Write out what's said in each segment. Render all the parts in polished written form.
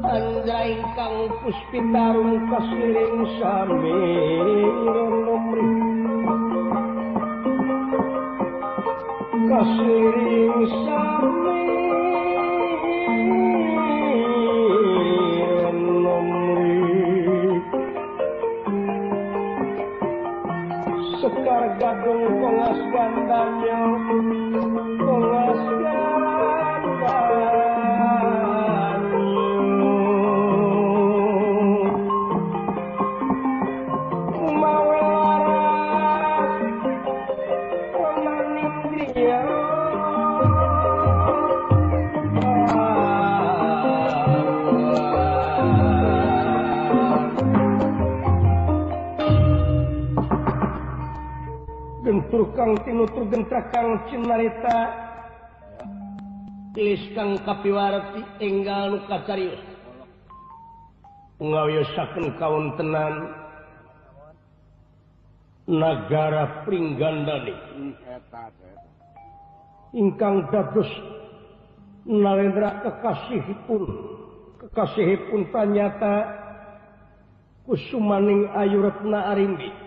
Andra ingkang puspitarung kasiring sami nomri kasiring sami nomri sekar gadung kongas gandanya kongas Kang tinutur gentra kang cinarita tilis kang kapiwarti enggal nu kacarius ngawiyosakeun kawontenan nagara Pringgandani ingkang dados nalendra kekasihipun tanyata kusumaning Ayu Retna Arimbi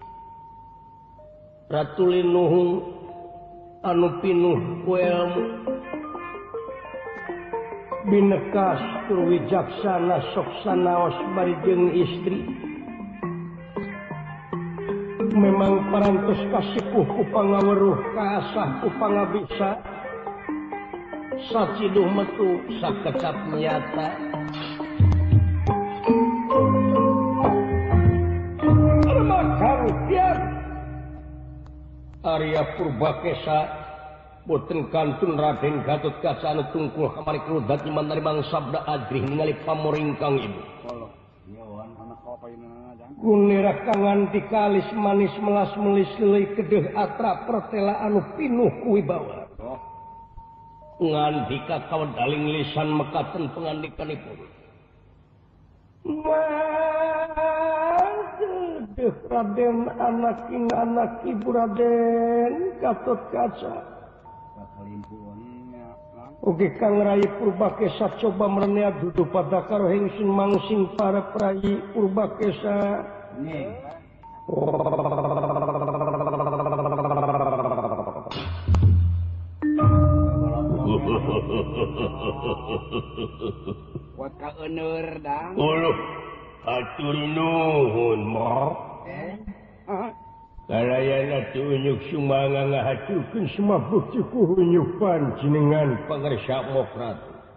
Ratu Linuhung anu pinuh ku ilmu binekas tur wijaksana sok sanaos bari jeung istri memang parantos kasipuh ku pangaweruh kaasah ku pangabisa saciduh metu sakecap nyata Arya Purbakesa boten kantun Raden Gatotkaca anu tungkul kamari keludat iman dari bang sabda adrih ningali pamoringkang ibu kunira kangan dikalis manis melas melis leuy kedeh atra pertela anu pinuh ku wibawa ngandika kawadaling lisan mekaten pangandikanipun Raden anak ibu Raden Gatotkaca oge Kang Rai Purbakesa coba merenea dudu pada karo hengsin mangsing para prayi Purbakesa buat ka euneur dang atur nuhun mo kalayana tunyuk sumanga ngahatukeun semua bukti kuhunyupan jenengan pangarsa mokrat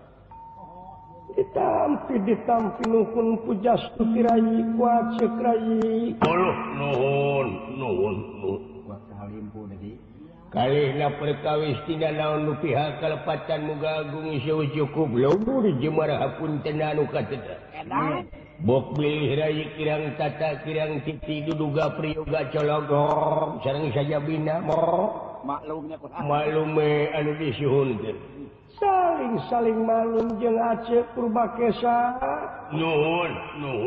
ditampi nuhun pujastu kirayi kuat cekrayi nuhun buat kahalimpu deui kalihna perkawis tina naon nu pihak kalepatan muga agung iseu cukup leuwur jemara hapunten anu kateda bok bilih rayi kirang tata kirang titi duduga priyoga cologong sareng saja bina maklumnya maklume anu disuhunkeun saling malum jeung Aceh Purbakesa nuhun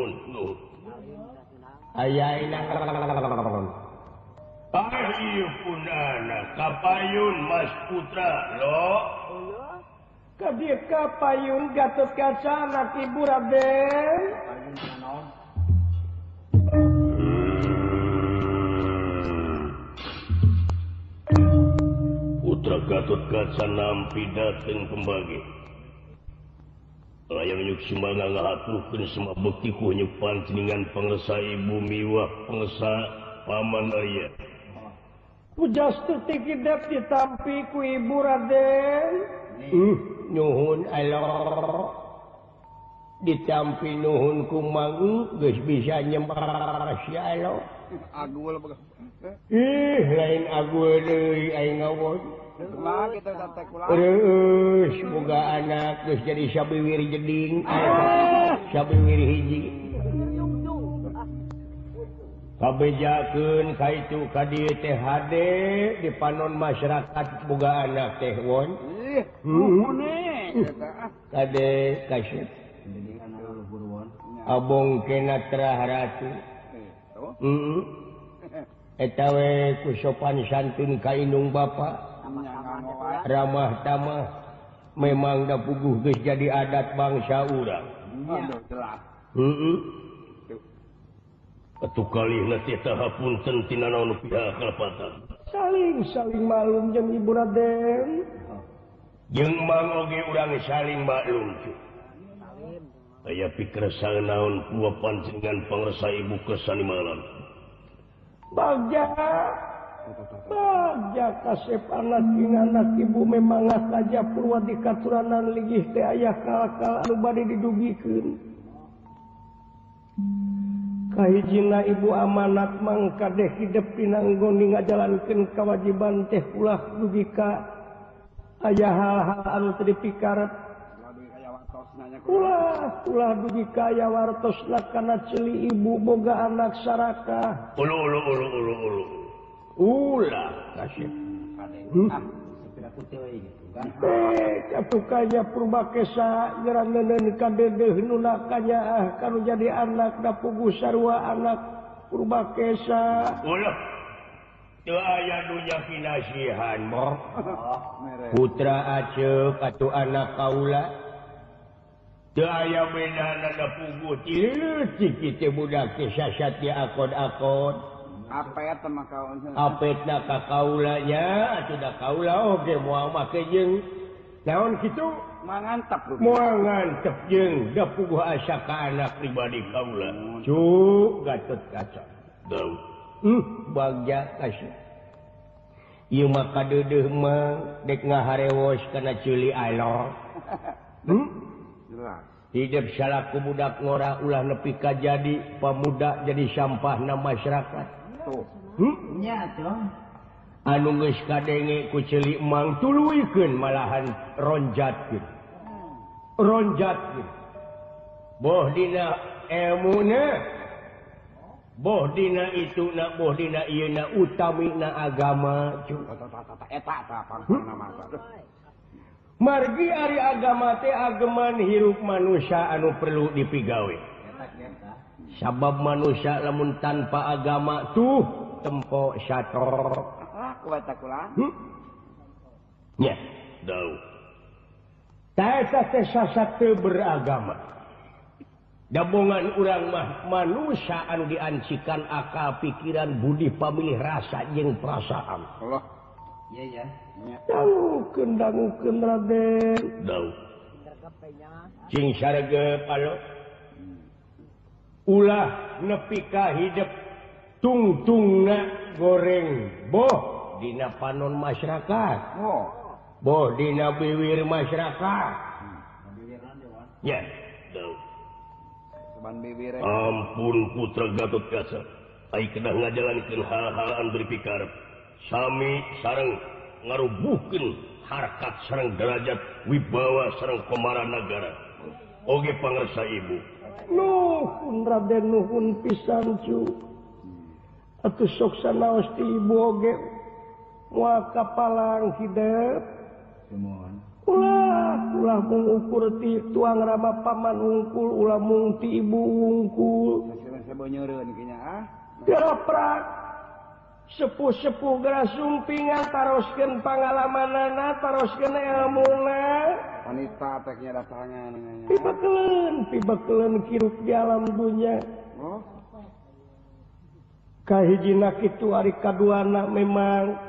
ayaina ieu punana kapayun Mas Putra lo kadieu kapayun Gatotkaca anak ibu Raden Putra Gatotkaca nampi dateng kembali layang nyuk sumanga ngahaturkeun semua bekti ku nyuk panjenengan pangresa ibu miwah pangresa paman aya pujastu tikidep ditampi ku ibu Raden nyuhun Allah ditampi nuhun ku mang geus bisa nyembah si Allah agul lain agul deui aing ngawon kumaha kitu teh kula semoga anak geus jadi sabiwir jeding sabiwir hiji kabejakeun kaitu ka dieu teh hade di panon masyarakat boga anak teh won kade kasyet abong kena terah ratu eta we ku sopan santun ka indung bapa ramah tamah memang da puguh geus jadi adat bangsa urang Aduh, jelas. Atuh kalihna teh hapunten tina naon pihak kalepatan. Saling malum jeung Ibu Raden. Jeung mang oge urang saling maklum. Aya pikir naon kula panjenengan pangresa ibu kesani malam. Bagja kasep anak ibu memang saja purwa di katuranan ligih teh aya kala-kala anu bade didugikeun. Kahijina ibu amanat mangka deh hidup pinanggoni ngajalankeun kewajiban teh ulah dugi ka aya hal-hal anu teu dipikaret. Ulah dugi ka aya wartosna kana ceuli ibu boga anak sarakah. Ulah kasih. Katukanya purbakesa geraneuneun ka dedeuh nu nakanya kanu jadi anak da puguh sarua anak purbakesa. Ulah. Teu aya nu nyakinasihan moh. Putra aceuk atuh anak kaula. Teu aya bedana da puguh Cik teh budak teh sasat di akod-akod. Apet mah kaon. Apetna ka kaula nya atuh da kaula oge moal make jeung naon kitu Mangantep rugi. moal ngantep jeung da puguh asa ka anak pribadi kaula. Cuk Gatot Kaca. Dau. Bagja kasih. Ieu mah kadeudeung mah dek ngaharewos kana ceuli alor. Jelas. Hidup salaku budak ngora ulah nepi ka jadi pamuda jadi sampahna masyarakat. Tuh. Nya tuh. Anu geus kadenge ku ceuli emang tuluikeun malahan ronjatkeun. Boh dina ilmuna, boh dina ituna, boh dina ieuna utamina agama. Eta pangna mah. Margi ari agama teh ageman hirup manusia anu perlu dipigawe. Sabab manusia lamun tanpa agama tuh tempo sator. Kuat kula. Nya, Dau. taeta teh sasat teu beragama. Dabongan urang mah manusia anu diancikan akal pikiran budi pamilih rasa jeung perasaan. Allah. Iya ya. Dangukeun Raden. Dau. Cing saregep alo. Ulah nepi ka hidup tungtungna goreng boh dina panon masyarakat. Oh. Boh dina biwir masyarakat. Ya. Dau. Ban bibir. Ampun putra Gatot Kaca. Ai kedah ngajalankeun hal-hal anu dipikarep. Sami sareng ngarubuhkeun harkat sareng derajat wibawa sareng komara nagara. Oge pangresa ibu. Nuhun Raden nuhun pisan cu. Atuh sok sanaos ti ibu oge moal kapalang hidup. Ulah mengukur ti tuang rama paman ungkul ulah mung ti ibu ungkul. Sebonyereun kinya ah. Geroprak sepuh-sepuh geura sumpingan taroskeun pangalamanana taroskeun ilmuna. Wanita teknya datangan. Pibakeuleun kirup di alam dunya. Oh. Kahijina kitu ari kaduana memang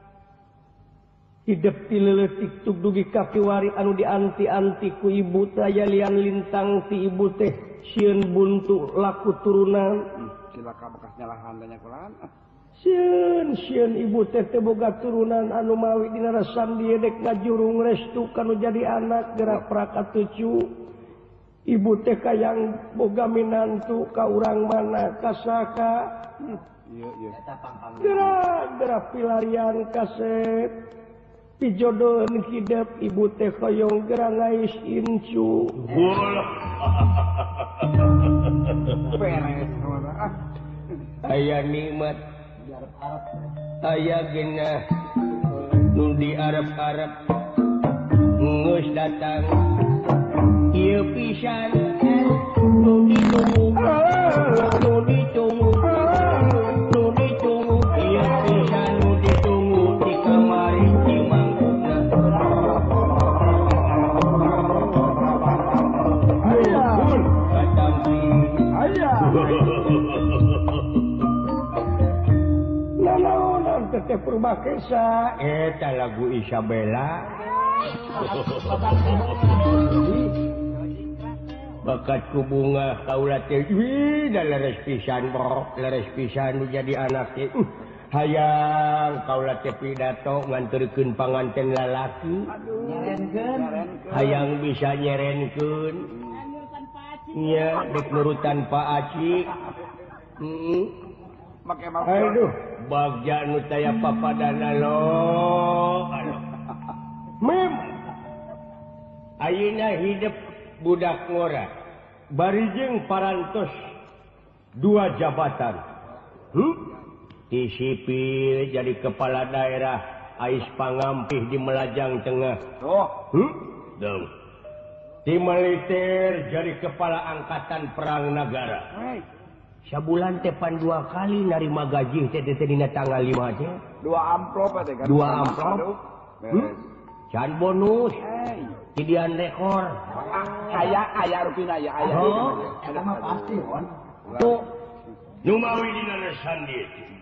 hidup ti leuleutik tug dugi ka kiwari anu dianti-anti ku ibu teh aya lian lintang ti ibu teh sieun buntu laku turunan. Cilaka bekas nyalahan tanya kulaan. Sieun ibu teh teu boga turunan anu mawi dina rasan dieu dek ngajurung restu kanu jadi anak gerak prakatucu. Ibu teh kayang boga minantu ka urang mana kasaka. Iya. Gerak pilarian kasep. Pijodohan hidup ibu teh koyong gerak ngais incu. Beres. Aya nikmat. Aya genah nu di Arab-Arab geus datang ieu pisan nu ditunggu ieu pisan nu ditunggu di kamari di mangkukna. Ampun Nanaonan teteh Purbakesa eta lagu Isabella bakatku bunga kaula teh da leres pisan bro leres pisan jadi anak teh hayang kaula teh pidato nganturkeun panganten lalaki hayang bisa nyerenkeun nya dek nurutan Pak Aci aduh bagja nu taya papadana lo mem ayeuna hidup budak ngora barijeng parantos 2 jabatan di sipil jadi kepala daerah ais pangampih di Melajang Tengah di militer jadi kepala angkatan perang negara sabulan tepan 2 kali narima gaji teh dina tanggal 5 teh 2 amplop teh kan 2 amplop can bonus Tidian rekor aya rupina aya eta mah pasti on tuh nu mawi dina lesan dieu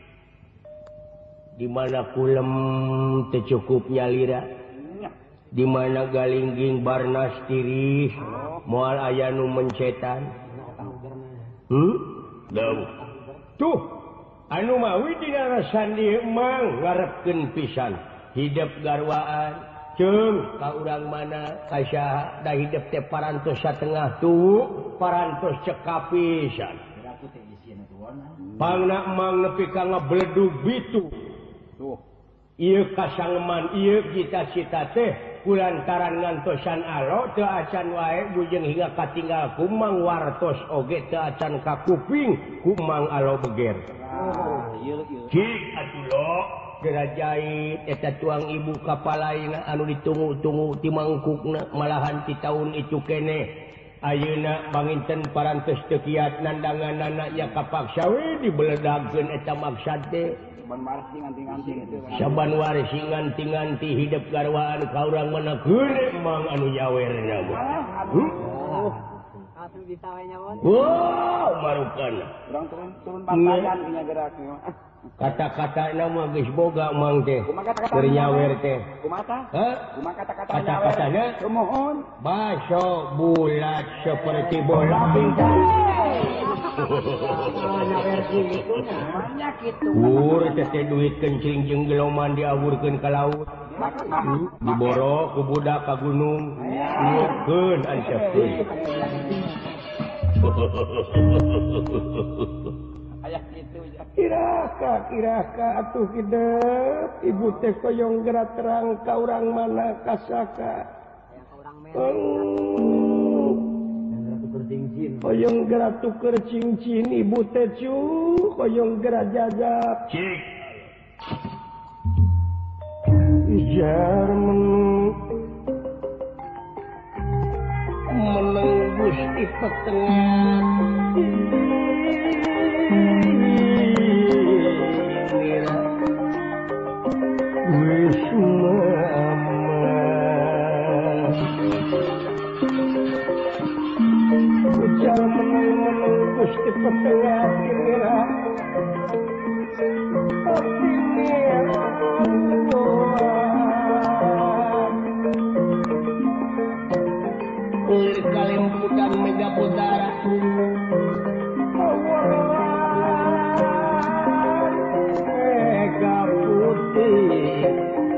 di mana kulem teu cukup nyalira di mana galingging barnas tiris moal aya nu mencetan tuh anu mawi dina lesan dieu mang ngarepkeun pisan hidup garwaan Ceng, ka urang mana kasya dah hidup teh parantos satengah tuh parantos cekapisan. Pangna emang nepi ka ngabledug bitu. Tuh. Ieu kasangeman ieu cita-cita teh kulantaran ngantosan alo teu acan wae bujeng hingga katinggal kumang wartos oge teu acan kakuping kumang alo beger. Cik atuh lo gerajait eta tuang ibu kapalaina anu ditunggu-tunggu ti mangkukna malahan ti taun itu kene ayeuna banginten parantos teu kiat nandanganna nya kapaksa we dibeledagkeun eta maksad teh saban warsi nganti-nganti hidup garwaan ka urang mana geure mang anu nyawerna bisa we nyawon wow marukana urang turun batayan nya gerak kata-kata nama geus boga mang teh keur nyawer teh kumaha kata-kata kata-katana mohon baso bulat seperti bola bintang nyawer kitu nya kitu teh duit kencing jeung geloman diawurkeun ka laut diboro ku budak ka gunung nyeukeun ansepkeun aya kitu Kiraka atuh hidup ibu teh koyong gerak terang ka urang mana kasaka koyong gerak tuker cincin ibu teh cu koyong gerak jajab cik ijar menembus di petengah Gusti petengah kira Ulir kalimputan mega putara mega putih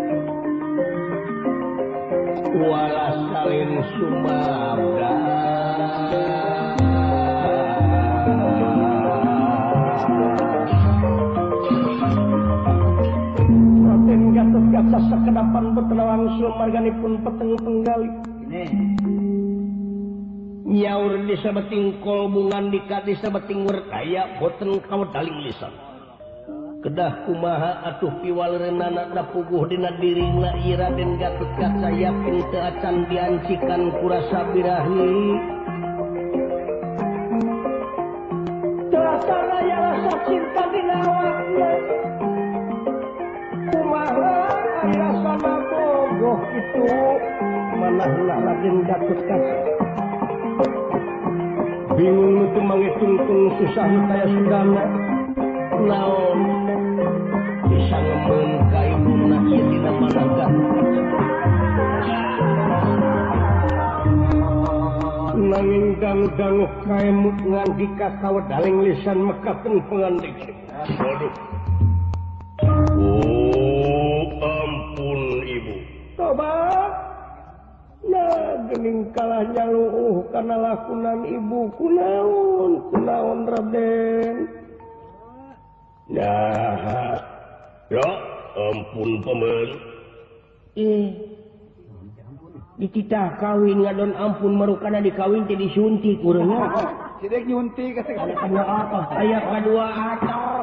wala salin sumabda sekedapan betelawang sumarganipun peteng penggali nyaur di sabeting kolbungan di sabeting werkaya boten kawadaling lisan kedah kumaha atuh piwaleunana da puguh dina dirina ieu Raden Gatotkaca yakin teu acan diancikan ku rasa birahi teu acan aya rasa cinta dina awakna kumaha rasana bogoh itu manahna Raden Gatotkaca bingung itu mangitungtung susah kayak sudahnya naon bisa ngemen kainuna ieu dina manangkan nanging dangu-dangu kaemut ngan dikakawa daling lisan mekaten pengantik waduh oh ampun ibu coba nah gening kalah nyaluh karena lakunan ibu kunaon Raden nah ya ampun paman dititah kawin ngadon ampun marukana dikawin teh disuntik urangna Sidek nyuntik aya apa aya kadua acor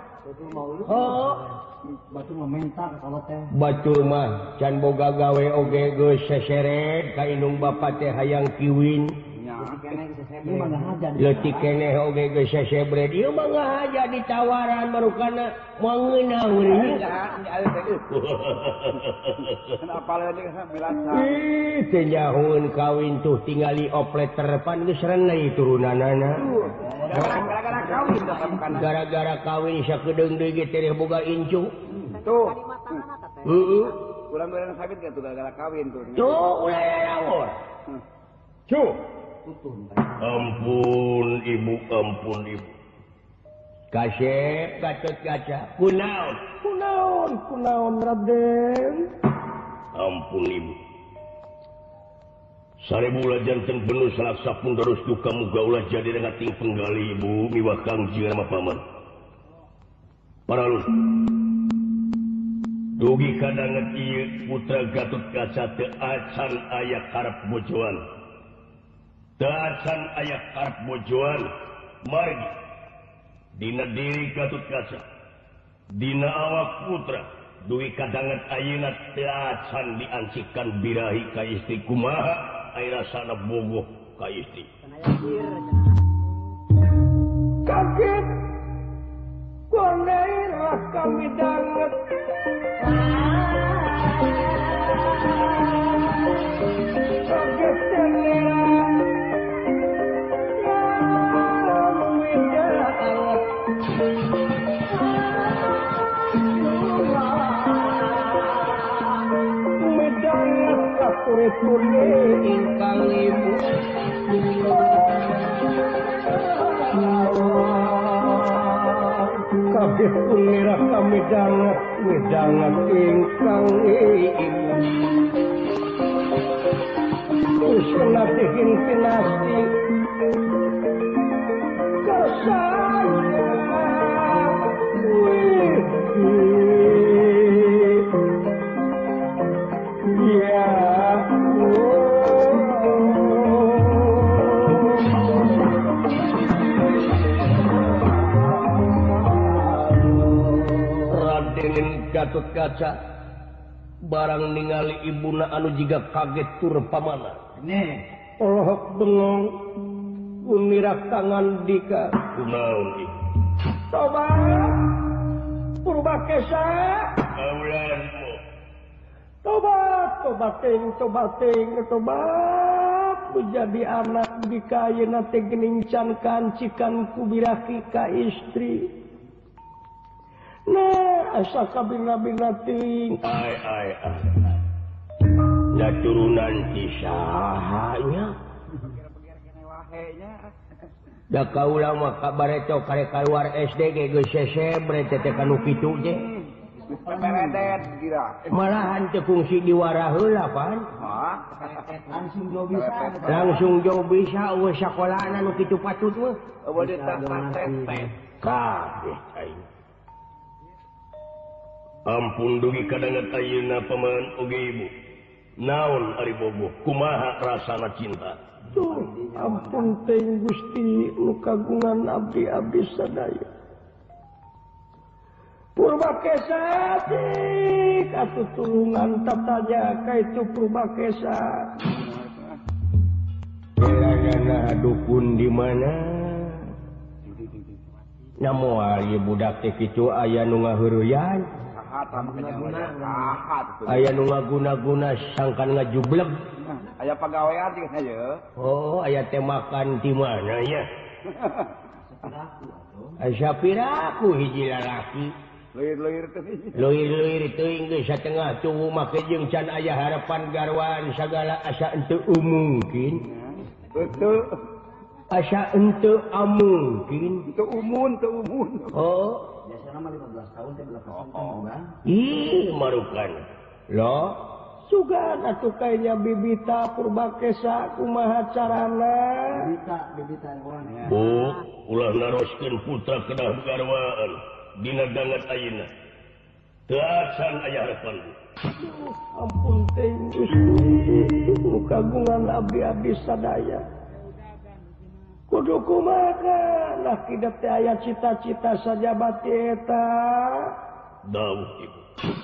Batur meminta kalau teh. Batur mah can boga gawe oge geus seseret ka indung bapa teh hayang kiwin. Ieu mah ngahaja. Leutik keneh oge geus sesebret. Ieu mah ngahaja ditawaran marukana moal ngeunah urang. Kenapa lagi milasa? Ih, teh nyahoeun kawin tuh tingali opleter pan geus renei turunanana. Gara-gara kawin bukan. Gara-gara kawin sakedeung deui ge teh boga incu. Tuh. Urang Urang sakit kan tuh gara-gara kawin tuh. Tuh ulah lawan. Cuh ampun ibu Kasep Gatot Kaca kunaon Raden ampun ibu sarebulah janten penuh salaksa pun terus duka muga ulah jadi dengan ting penggali ibu miwah kangji sama paman paralun dugi kadanget ieu putra Gatot Kaca teu acan aya karep bojoan teu acan aya karep bojoan margi dina diri Gatot Kaca dina awak putra dugi kadanget ayeuna teu acan diancikan birahi ka istri kumaha aya rasana bogoh ka istri kaget konailah kami danget kaget tengeran medanget kapure-pure ingkang ibu kabeh punira kami danget ingkang ibu usuna tihin pinasti Gatot Kaca barang ningali ibuna anu jiga kaget tur pamana olohok bengong unirak tangan dika kunaon ibu coba Purbakesa aulanmu tobat menjadi anak dikayeuna teh geuning can kancikan kubiraki ka istri nah asa kabina-bina ting ai ya turunan kisahnya da kaula mah kabareto kare keluar SD ge geus sesebret teh kanu kitu je Peredet kira. malahan teu fungsi diwara heula pan langsung jo bisa eueuh sakolana nu kitu patut mah Eueuh dites-tes. kabeh aing ampun dugi kadanget ayeuna paman oge ibu naon ari bogoh kumaha rasana cinta tuh ampun teuing Gusti nu kagungan abdi-abdi sadaya Purbakesa dik atuh tulungan tatanya ka itu Purbakesa Iragana dukun di mana namoal ieu budak teh kitu aya nu ngaheureyan jahat sama kejadian jahat. Aya nu ngaguna-guna sangkan ngajubleg. Aya pagawean jeung aja. Oh, aya teh makan di mana ya? Sapiraku hiji lalaki. Leuir-leuir teh. Leuir-leuir teuing geus satengah tubuh make jeung can aya harapan garwan sagala asa henteu mungkin. Betul. Asa henteu mungkin. Teu umun. Oh, biasanya mah 15 tahun teh belasan ih marukan. Loh, sugan atuh kayaknya bibita purbakesa kumaha carana? bibita orang ya. Bu, ulah naroskeun putra kedah garwaan dina dangat ayeuna. Teu acan aya harapan. Ampun teh Gusti, kagungan abdi-abdi sadaya. Kudu kumaha lah kidat teh aya cita-cita saja bati eta. Dawuh ibu.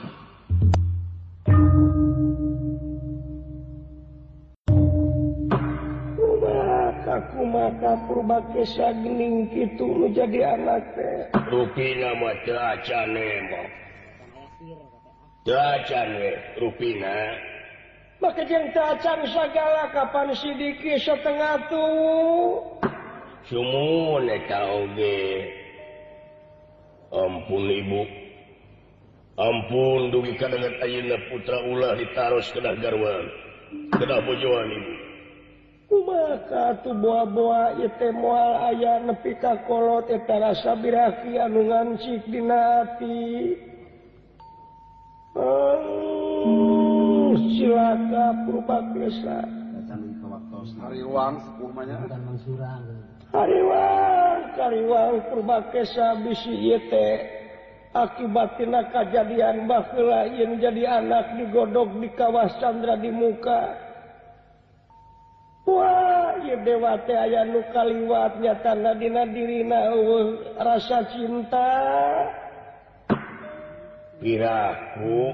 Kumaha purbakesa geuning kitu nu jadi anak teh. Rupina mah teu acan mah. Teu acan we rupina. Maka jeung teu acan sagala kapan sidiki setengah tuh. Sumun eta oge. Ampun ibu. Ampun dugi kadangan ayeuna putra ulah ditaros kedah garwan. Kedah bojoan ibu. Kumaha tu boa-boa ieu teh moal aya nepi ka kolot eta rasa biraki anu ngancik dina ati. Silaka purbakesa. Hariwang sepuh mah nya. Hariwang purbakesa bisi ieu teh akibatina kajadian baheula yen jadi anak digodog di kawah Candra di muka. Wah, ieu dewa teh aya nu kaliwat nyatana dina dirina rasa cinta. Piraku.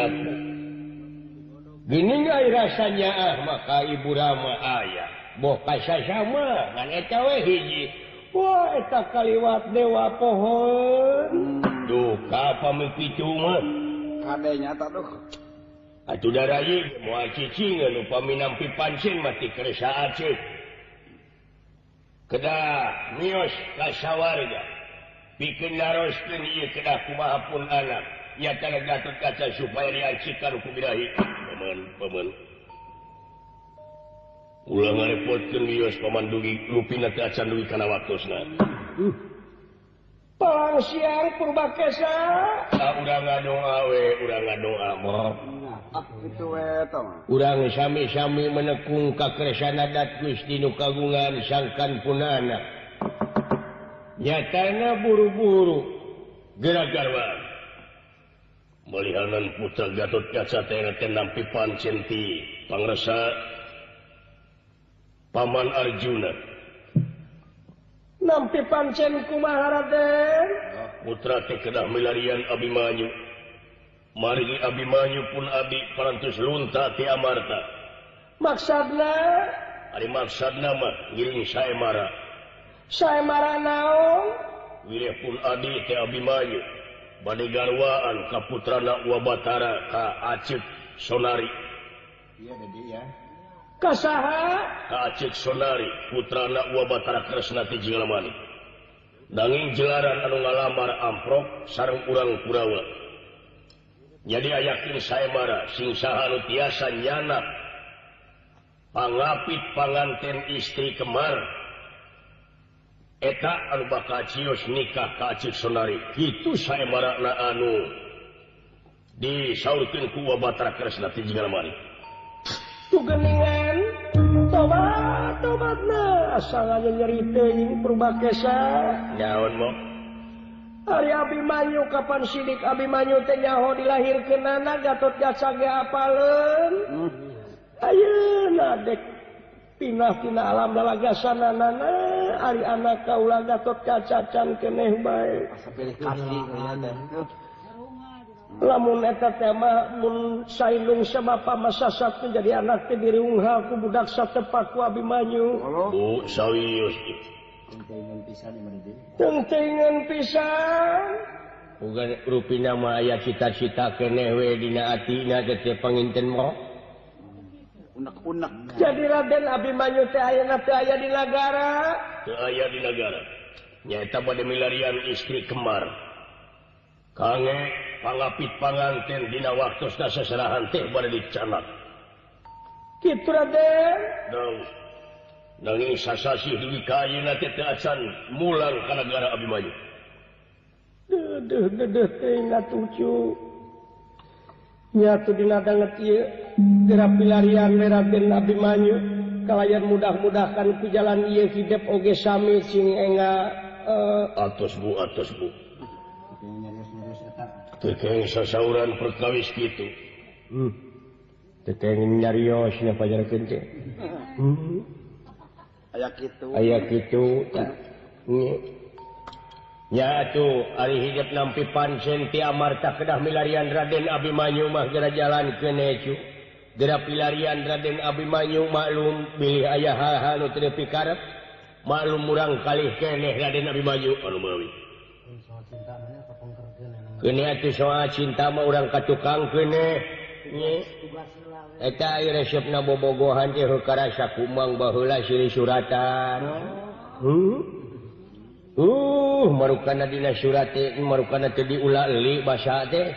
Gini aya rasanya maka ibu Rama aya. Boh kasasama ngan eta we hiji. Wah, eta kaliwat dewa pohon. Duh, ka pamimpi mah. Kadenya tak duh. Atuh darayi moal cicingeun upami nampi pancen mati keresa aceuk. Kedah mios ka sawarga. Pikeun naroskeun ieu kedah kumaha pun anak. Nyatana Gatot Kaca supaya diancikan ku birahi. Paman. Ulah ngarepotkeun mios paman dugi rupina teh acan dugi kana waktosna. Palang siang purbakesa. Urang ngadoa we, urang ngadoa mah. Kitu we eta mah. Urang sami-sami menekung kakresan adat Gusti nu kagungan sangkan punana. Nyatana buru-buru gerak-garwan. Malihanan putra Gatot Kaca teh nampi pancen ti pangresa Paman Arjuna. Nampi pancen kumaha Raden? Putra teh kedah milarian Abimanyu. Maringi Abimanyu pun abdi parantos lunta ti amarta. Maksudna? Ari maksudna mah ngiring Saemara. Saemara naon? Wilih pun adi teh Abimanyu. Bade garwaan ka putrana Wabatara ka Acik Sonari. Iya jadi ya. Kasaha? Ka Acik Sonari putrana Wabatara Kresna ti Jigalamani. Nanging jelaran anu ngalamar amprok sareng urang Kurawa. Jadi ayakin Saemara sing saha anu tiasa nyanak pangapit panganten istri kemar. Eta anu bakal cios nikah ka Acik Sonari. Kitu Saemarana anu disaurkeun ku Wabatara Kresna ti Jigalamani. Tugeningan tobatna asal aja nyeri teuing purbakesa. Naon mo? Ari Abimanyu kapan sidik Abimanyu teh nyaho dilahirkeunana Gatot Kaca ge apaleun. Ayeuna dek pinah tina alam dalagasanana ari anak kaula Gatot Kaca can keneh bae. Asa pilih kasih nya teh. Lamun eta teh mah mun sailung sabapa masasat jadi anak teh diriungha ku budak satepak ku Abimanyu. Bu sawius. Tentengan pisan di mana dia. Tentengan pisan. bukan rupina mah aya cita-cita keneh we dina atina teh panginten mo. Unek-unek. Jadi Raden Abimanyu teh ayeuna teu aya di nagara. Teu aya di nagara. Nyaeta bade milarian istri kemar. Kange pangapit panganten dina waktosna seserahan teh bade dicanak. Kitu Raden. Nanging sasasih dugi ka ayeuna teh teu acan mulang ka nagara Abimanyu. Deuh teh ngatucu. Nyatu dina danget ieu geura pilarian Raden Abimanyu kalayan mudah-mudahan ku jalan ieu hidup oge sami cing enga atos bu. Tekeng sasauran perkawis kitu. Tekeng nyarios nya pajarekeun teh. Aya kitu. Nya atuh ari hidup nampi pancen ti amarta kedah milarian Raden Abimanyu mah geura jalankeun cu. Geura pilarian Raden Abimanyu maklum bilih aya hal-hal nu teu pikarep. Maklum urang kalih keneh Raden Abimanyu anu meuli. Keneh atuh soal cinta mah urang katukang keneh. Eta aya resepna bobogohan teh karasa kumang baheula silih suratan. Marukana dina surat teh marukana teu diulah euli basa teh.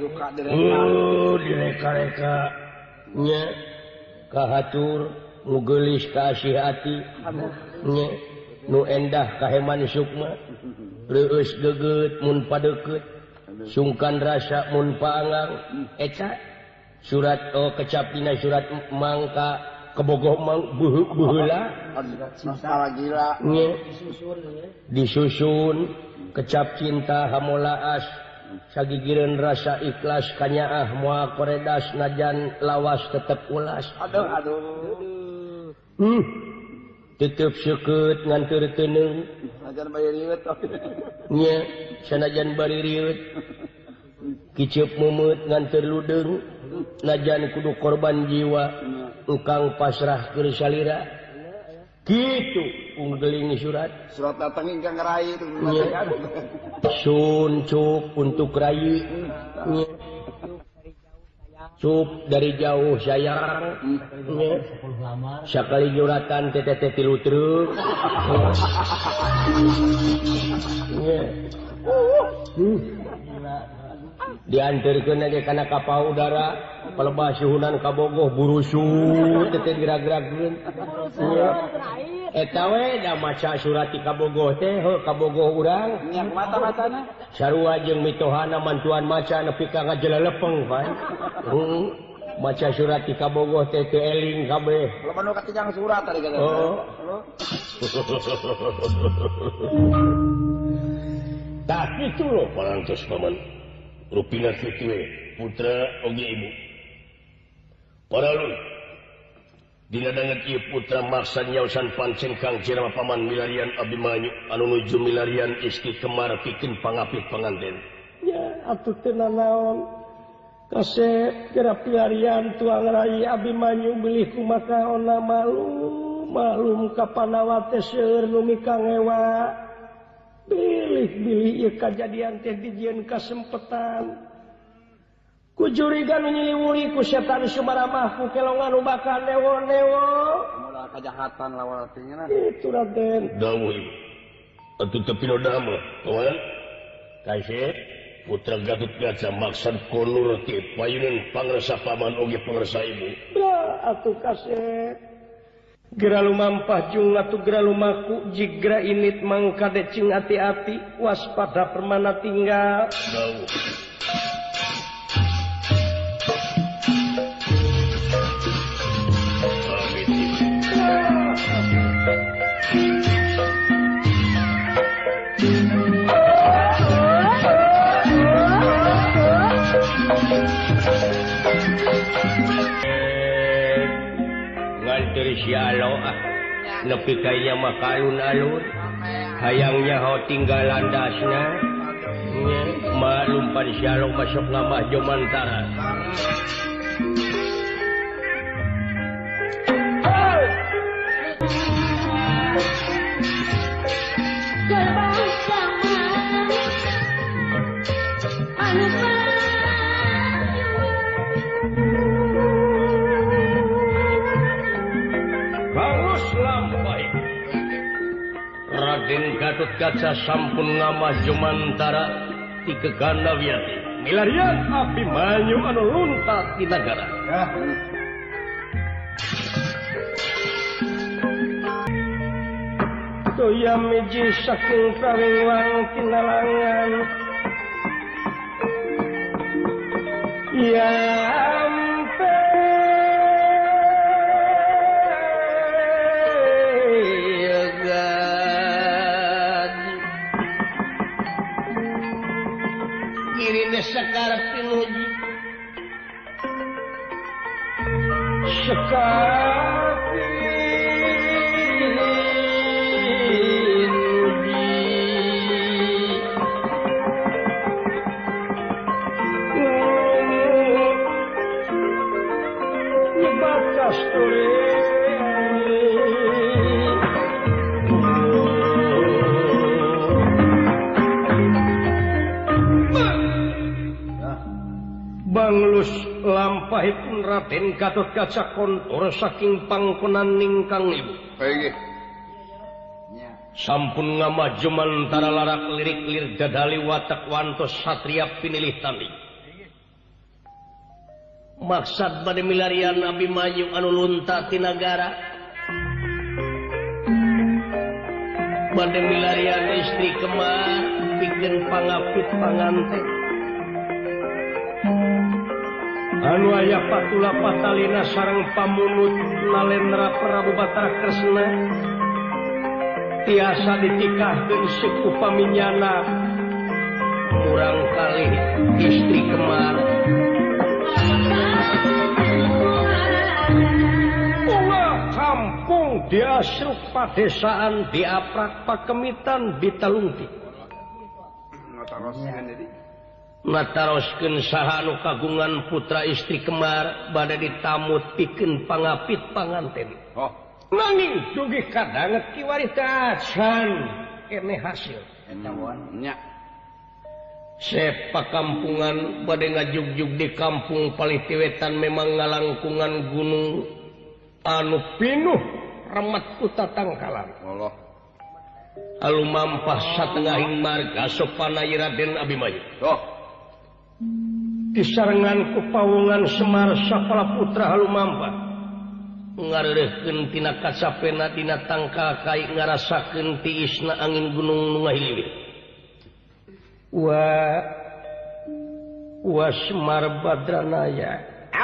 Direka-reka. Nya kahatur nu geulis ka asih ati. Nya nu endah kaheman sukma. Reueus geget mun padeukeut. Sungkan rasa mun paangang. Eta surat kecap dina surat mangka kebogoh mang beheula gila. Disusun kecap cinta hamolaas sagigireun rasa ikhlas kanyaah moal koredas najan lawas tetep ulas. Aduh. Tetep seukeut ngan teu teuneuh. Sanajan bari riweut. Nya sanajan bari riweut. Kiceup memeut ngan teu ludeung. Najan kudu korban jiwa. Engkang pasrah keur salira. Kitu unggeling surat. Surat datang ingkang rai itu. Sun cup untuk rai. Cup dari jauh sayang. Sakali juratan teteh tilu truk. Diantarkeun ge kana kapal udara pelebah suhunan kabogoh burusu teteh gerak-gerakkeun. Eta we da maca surat ti kabogoh teh kabogoh urang. Nya mata-matana. Sarua jeung mitohana mantuan maca nepi ka ngajelelepeng pan. Maca surat ti kabogoh teh teu eling kabeh. Loba nu katijang surat tadi kata. Tah kitu lo parantos paman. Rupina kitu we putra oge ibu. Paralun. Dina danget ieu putra maksa nyaosan pancen Kang Cirama paman milarian Abimanyu anu nuju milarian istri kemar pikeun pangapit panganten. Ya atuh teu nanaon. Kasep geura pilarian tuang rai Abimanyu bilih kumaha ona malum ka Panawa teh seueur nu mikang ewa. Bilih ieu kajadian teh dijieun kasempetan. Ku jurigan nyiliwuri ku setan sumaramah ku kelongan nu bakal newo-newo. Moal kajahatan lawan artinya. Itu Raden. Dawuh ibu. Atuh teu pinodama, kawan. Kaise putra Gatut Kaca maksad konur ti payuneun pangresa paman oge pangresa ibu. Da atuh kasep. Gera lumampah jung atuh gera lumaku jigra init mangka decing ati-ati waspada permana tinggal. Dawuh. Sialo nepi kaya mah alun-alun hayangnya ho tinggal landasna maklum pan sialo masuk ngamah jomantara. Raden Gatotkaca sampun ngamaju mantara ti gegana wiyati milarian Abimanyu anu lunta di nagara. Toya miji saking prawiwang tinalangan ya ampe gadi kirine sakarep pinuji sakarep Banglus lampahipun Raden Gatotkaca kontor saking pangkonan ningkang ibu. Sampun ngamaju mantara larak lirik-lir dadali watak wantos satria pinilih tani. Maksad bade milarian Abimanyu anu lunta ti nagara. Bade milarian istri Kemar pikeun pangapit panganten. Anu aya patula patalina sareng pamunut Nalendra Prabu Batara Kresna tiasa ditikahkeun suku paminyana murang kalih istri Kemar. Kampung diasruk padesaan diaprak pakemitan ditalungti nataroskeun saha anu kagungan putra istri Kemar bade ditamut pikeun pangapit panganten. Nanging dugi kadanget kiwari tacan kene hasil nya sepakampungan bade ngajugjug di kampung Palitiwetan memang ngalangkungan gunung anu pinuh remet ku tatangkalan. Allah Alumampah satengahing marga sopanai Raden Abimanyu. Disarengan ku pawungan Semar Sapala Putra halumampah ngareureukkeun tina kacapena dina tangka kai ngarasakeun tiisna angin gunung nu ngahiliwit. Wa Semar Badranaya.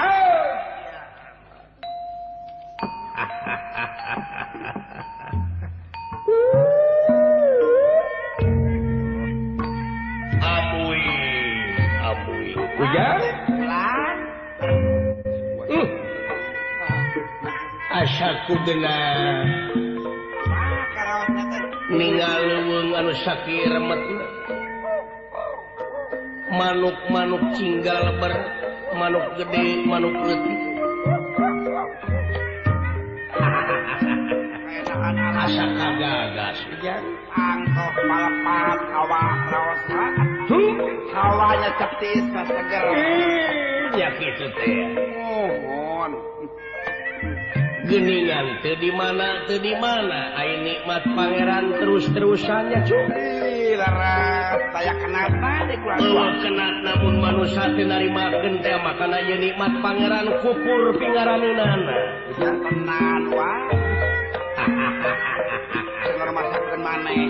Hujan? Asaku genah ningaleuweung anu sakit remetna manuk-manuk cinggal ber manuk gede manuk leutik asa kagagas hujan angkok palepat awak raosa hawanya ceptis ka seger ya kitu teh mohon geningan teu di mana ai nikmat pangeran terus-terusannya cuy laras taya kenatna di kurang kenat namun manusia teu narimakeun teh makana ieu nikmat pangeran kupur pingaraneunana hujan tenan wae cenah masakeun maneh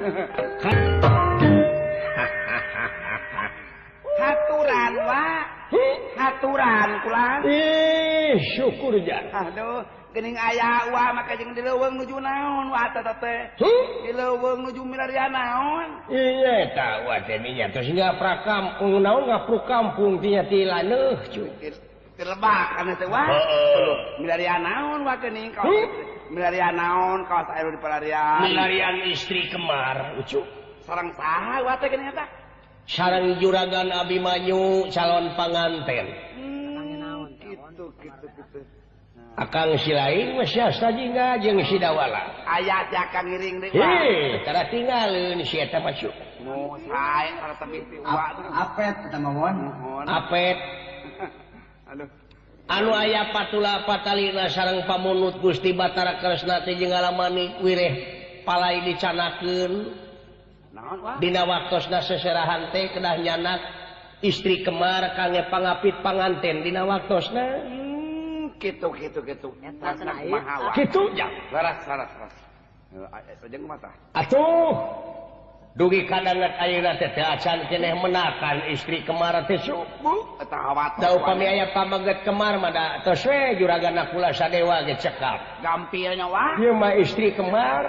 haturan wa haturan kulang syukur jan aduh geuning aya wa maka jeung dileuweung nuju naon wa eta teh dileuweung nuju milarian naon iya eta wa teh nya tos ngaprak kampung naon ngapruk kampung tinya tilaneuh cuy dilebak kana teh wa milarian naon wa geuning kaos milarian naon kaos aero di pelarian milarian istri Kemar ucuk sareng saha wa teh geuning eta sareng juragan Abimanyu calon panganten. Gitu. Akang si lain masih astajingga jeung si Dawala. Aya jakang ngiring deui. Tara tinggalin si eta masuk. Mau sae tara tebih ti uwa. Apet eta mawon. Apet. Aduh. Anu aya patula patalina sareng pamunut Gusti Batara Kresna teh jeung ngalamani wireh palai dicanakeun naon wah dina waktosna seserahan teh kedah nyanak istri kemar kangge pangapit panganten dina waktosna gitu mahawa kitu ya saras jeung mata atuh dugi kadangan ayeuna teh acan keneh menakan istri kemar teh subuh eta hawatos da upami aya pamaget kemar mah da tos we juragana kula sadewa ge cekap gampilnya wah ieu mah istri kemar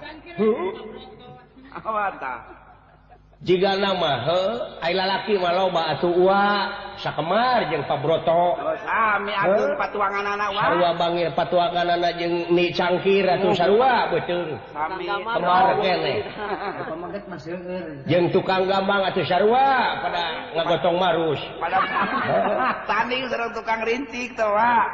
awata jika nama ai lalaki mah loba atuh ua sakemar jeung pabroto sami atuh patuanganana wah sarua bangir patuanganana jeung ni cangkir atuh sarua beuteung sami kemar keneh Pamaget mah seueur. jeung tukang gambang atuh sarua pada ngagotong marus pada tanding sareng tukang rincik teh wah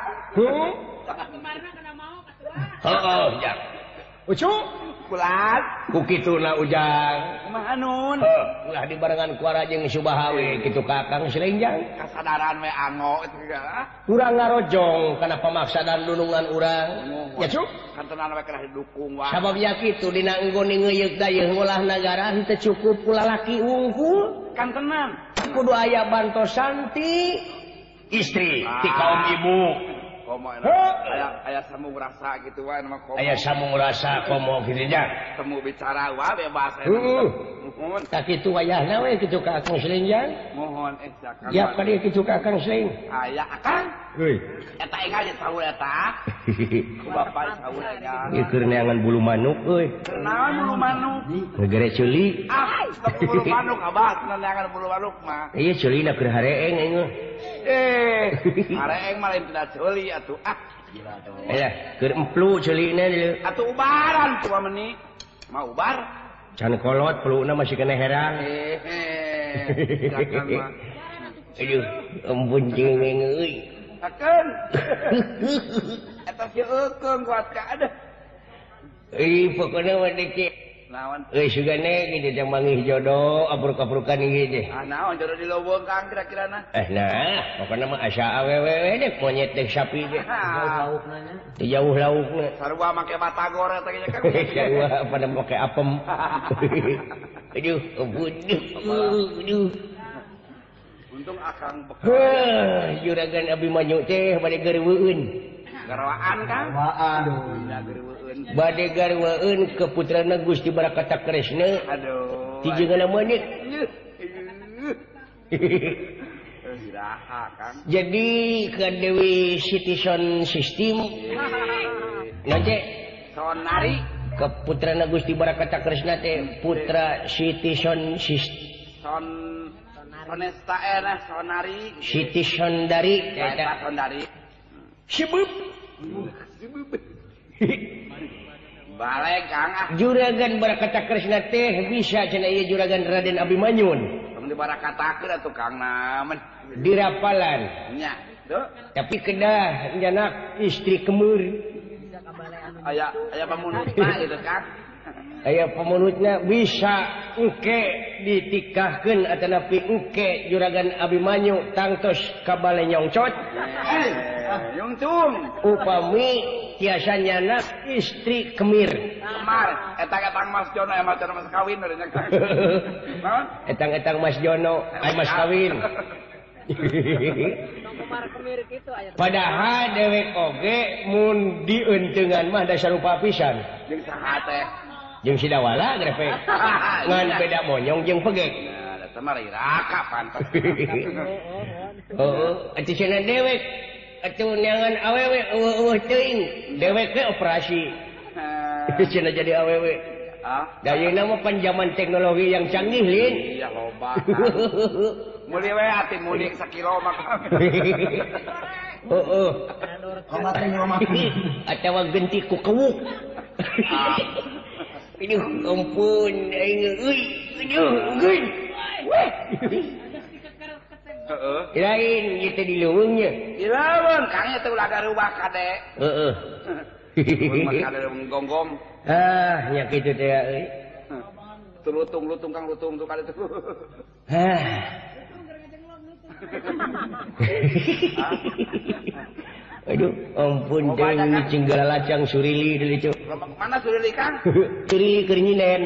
heeh ya ucu kulat ku kituna ujang kumaha nun ulah dibarengan ku jeung Subahawe kitu Kakang Slenjang kasadaran we ango itu juga urang ngarojong kana pamaksadan nunungan urang ya cu kantenan we kena didukung wah sababnya kitu dina enggon ngeuyeuk dayeuh ngolah nagara henteu cukup ku lalaki unggul kantenan kudu aya bantosan ti istri ti kaum ibu komo aya samu rasa gitu wae nama komo aya samung rasa komo kitu nya temu bicara wah bebas mohon tak kitu wayahna we kitu Kakang Slenjang mohon sakan ya ka dieu kitu Kakang Sleng aya akang euy eta enggal di saur eta ku bapak saur enggal ieu keur neangan bulu manuk euy naon bulu manuk ngegere ceuli bulu manuk abah neangan bulu manuk mah ieu ceulina keur hareeng aing hareeng mah lain tidak ceuli atuh aya keur emplu ceulina dieu atuh ubaran tua meni mau ubar can kolot peluna masih kena herang silakan mah aduh ampun cengeng euy akeun eta seukeung kuat ka ada pokona mah deke naon sugane kitu teh mangih jodoh abruk-abrukan ieu teh naon jodoh di leuweung kang kira-kirana nah pokona mah asa awewe dek monyet dek sapi dek jauh laukna sarua make batagor eta ge kang sarua pada make apem aduh ampun aduh untung akang juragan Abimanyu teh bade gareuweun garwaan kang Aduh. bade gareuweun ke putrana Gusti Barakata Kresna aduh ti jenengan monyet iraha kang jadi ke Dewi Citizen System nanti sonari ke putrana Gusti Barakata Kresna teh putra Citizen System sonesta sonari Citizen dari eta sonari sibuk balik kang juragan Barakata Kresna teh bisa cenah ieu juragan Raden Abimanyun di barakatakeun atuh kang namen dirapalan nya tuh tapi kedah nyanak istri kemur aya pamunutna gitu kang aya pamunutna bisa engke ditikahkeun atanapi engke juragan Abimanyu tangtos ka bale nyongcot nyungcung upami tiasa nyanak istri kemir kemar etang Mas Jono Mas kawin urang kang naon etang Mas Jono Mas kawin padahal dewek oge mun dieunteugan mah da sarupa pisan jeung saha teh jeung sidawala grepek ngan beda monyong jeung pegek nah eta mah iraka pantes atuh cenah dewek atuh neangan awewe eueuh teuing dewek ge operasi cenah jadi awewe dayeuna mah panjaman teknologi yang canggih lin iya loba muli we ati mudik sakilo mah heeh Ngomat. atawa genti ku kewuk aduh ampun aing euy aduh geun heeh lain ieu teh di leuweungnya ilawan kang eta ulah garubah kade heeh mun mah kade gonggong nya kitu teh euy lutung kang lutung tuh kade tuh Aduh, ampun teh ini cinggala lacang surili deui cu. Mana surili Kang? Surili keur nyinen.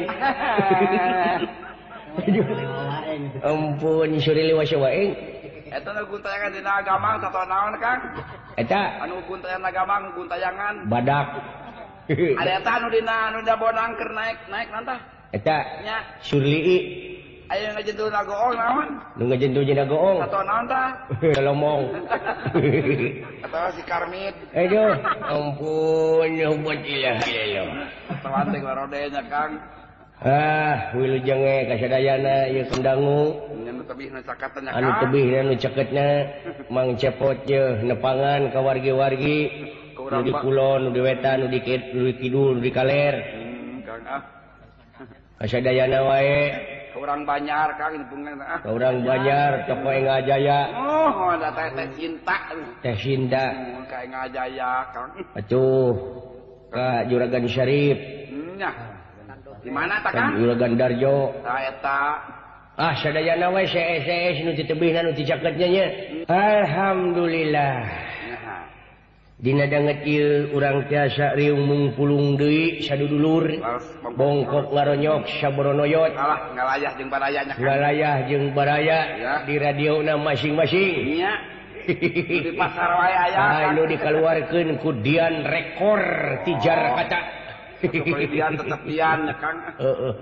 Aduh. Ampun surili wasa wae. Eta nu guntayangan dina agamang satu naon Kang? Eta Anu guntayangan agamang guntayangan. badak. Ada eta anu dina bonang keur naik nantah. Eta Nya surili. aya ngajentu nagoong naon? Nu ngajentu jeung goong. Satu naon tah? Lomong. Atau si Karmit. Aduh, ampun hubat ilaha illallah. Tawante ngarodenya Kang. Wilujeng kasadayana ieu kendangu. Anu tebih nu caketna Anu tebih dan nu ceketna Mang Cepot je nepangan ka wargi-wargi nu di kulon, nu di wetan, nu di kidul, nu di kaler. Kang Kasadayana wae. Ka urang Banyar Kang dipungan Ka urang Banjar toko Engajaya. Oh, ada teh cinta. Teh Sinta. Ka Engajaya Kang. Atuh ka Juragan Syarif. Nya. Di mana ta Ka Kang? Juragan Darjo. Eta. Sadayana wae sees nu titebihna nu caketnya nya. Alhamdulillah. Dina danget ieu urang tiasa riung mungpulung deui sadudulur bongkok ngaronyok saboronoyot Alah ngalayah jeung baraya nya Kang. ngalayah jeung baraya di radiona masing-masing. Nya. Di pasar wae aya. Anu dikaluarkeun ku Dian Rekor ti Jakarta. Kemudian tetep Dian nya Kang. Heeh.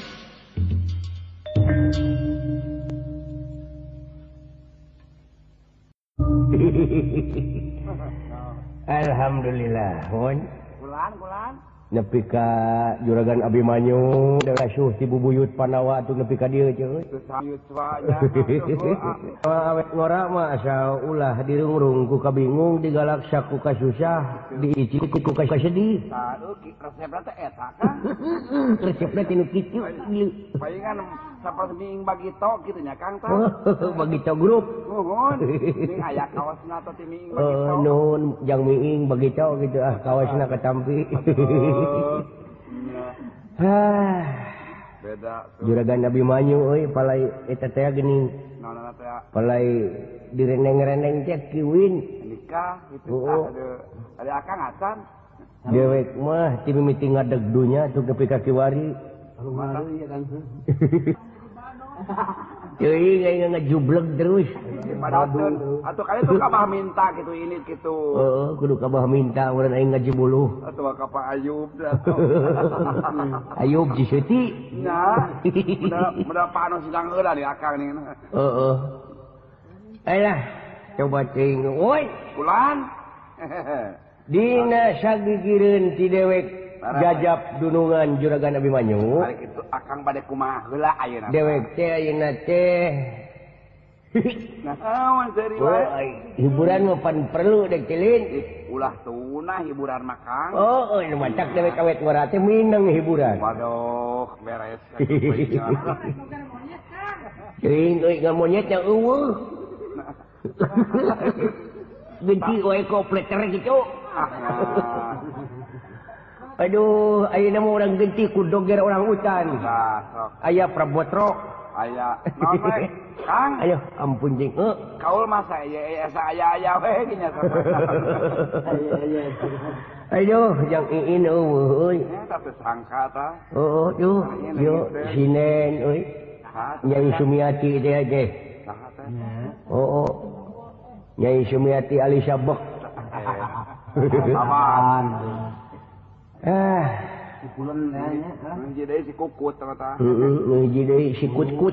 Alhamdulillah, hon. Kulan. Nepi ka Juragan Abimanyu da asuh ti bubuyut Panawa atuh nepi ka dieu ceuk. Sayut swanya. Awet ngora mah asa ulah dirungrung ku kabingung digalaksa ku kasusah diicik ku kasedih. Aduh, resepna teh eta Kang. Resepna tinu kitu. Palingan saperti ming bagito kitu nya Kang tah. Bagito grup. Nuhun. Ming aya kaosna teh ti ming bagito. Nuhun jang miing bagito gitu kaosna katampi. Beda. Juragan Abimanyu euy palai eta teh geuning. Naon teh? Palai direneng-reneng teh kiwin. Nikah itu ada Akang Acan. Dewek mah ti mimiti ngadegdunya tuh nepi ka kiwari. Alumari ya kan. Euy ngajubleg terus. Padahal atuh kali tuh kabah minta gitu ini gitu. Heeh, kudu kabah minta urang aing ngajibuluh. Atuh ka Pak Ayub dah. Ayub Jisuti. Nya. Mudah Pak anu sidang heula di Akang nih. Heeh. Ayolah, coba ting. Woi, Kulan. dina sagigireun ti dewek jajab dunungan Juragan Abimanyu. Balik itu Akang bade kumaha heula ayeuna. Dewek teh ayeuna teh Naon seri wae. hiburan mah pan perlu dek tilin. Ulah tunah hiburan mah Kang. Oh, ini macak dewek awet ngora teh mineng hiburan. Waduh, beres. Ting euy ngamonyetnya eueuh. Genti wae kopleter gitu. Aduh, ayeuna mah urang genti ku doger orang hutan. Aya prabotro. Aya. Naon bae? Kang. Ayo, ampun jeung. Kaul mah saya aya we nya Aduh, jang iin eueuh euy. Eta teh sangka tah. Oh, yo sinen euy. Nyai Sumiati teh aja. Saha teh? Oh. Nyai Sumiati Ali Sabek. Aman. Pulen kayaknya. Menji deui si kukut tah. Ngiji deui si kut-kut.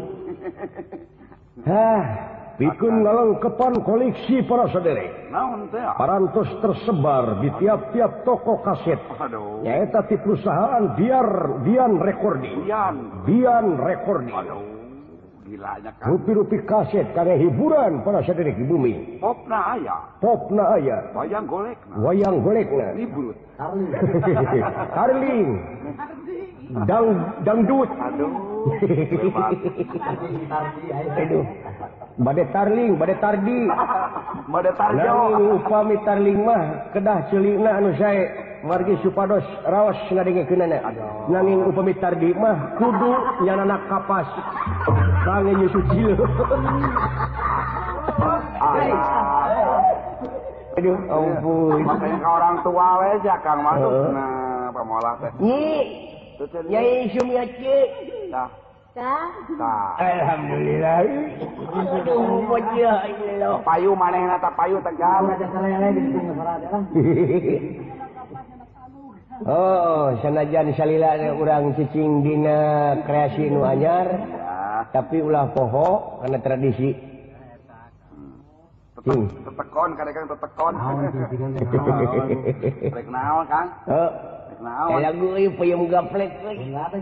Pikeun ngalengkepan koleksi para saderek. Naon teh? Parantos tersebar di tiap-tiap toko kaset. Aduh. Nyaeta ti perusahaan Dian Recording. Dian Recording. Aduh. Gila nya Kang. Rupi-rupi kaset kangge hiburan para saderek di bumi. Popna aya. Popna aya, Wayang golekna. wayang golekna, Librut. Harling, dangdut. Aduh. Aduh. Bade tarling, bade tardi. Made tarjo. Nanging upami tarling mah kedah ceulina anu sae margi supados raos ngadengekeunana. Nanging upami tardi mah kudu nyanana kapas. Sange nyusu cil. Aduh, ampun. Makanya ke orang tua we ya Kang masuk. Nah, pamolah teh. Nyai Sumiace. Tah. Tah. Tah. Alhamdulillah. Aduh, wajah Allah. Payu manehna tah payu tegal. Ada salele di sini salat lah. Oh, sanajan salila urang cicing dina kreasi nu anyar, tapi ulah poho karena tradisi. Tetekon kadang tetekon. Rek naon Kang? Heeh. Rek naon? Kayak lagu ieu peuyeum gaplek euy.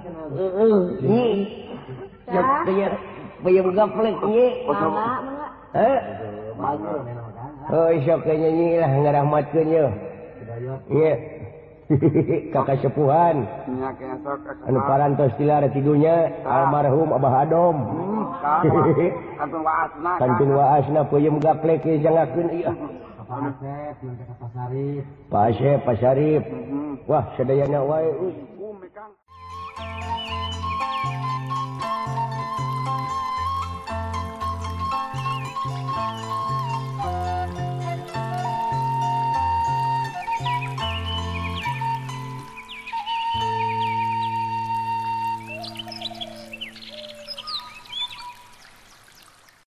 Heeh. Peuyeum gaplek ieu. Mangga. Heh. Oh, sok nyanyi lah ngarahmatkeun yeuh. Iya. Kakak sepuhan Nya kesok anu parantos tilar tidunya almarhum Abah Adom. Kantun waasna. Kantun waasna peuyeum gaplek ieu jangakeun ieu. Pasep, nanti ke Pasarip. Pasep, Pasarip. Wah, sadayana wae. Kang.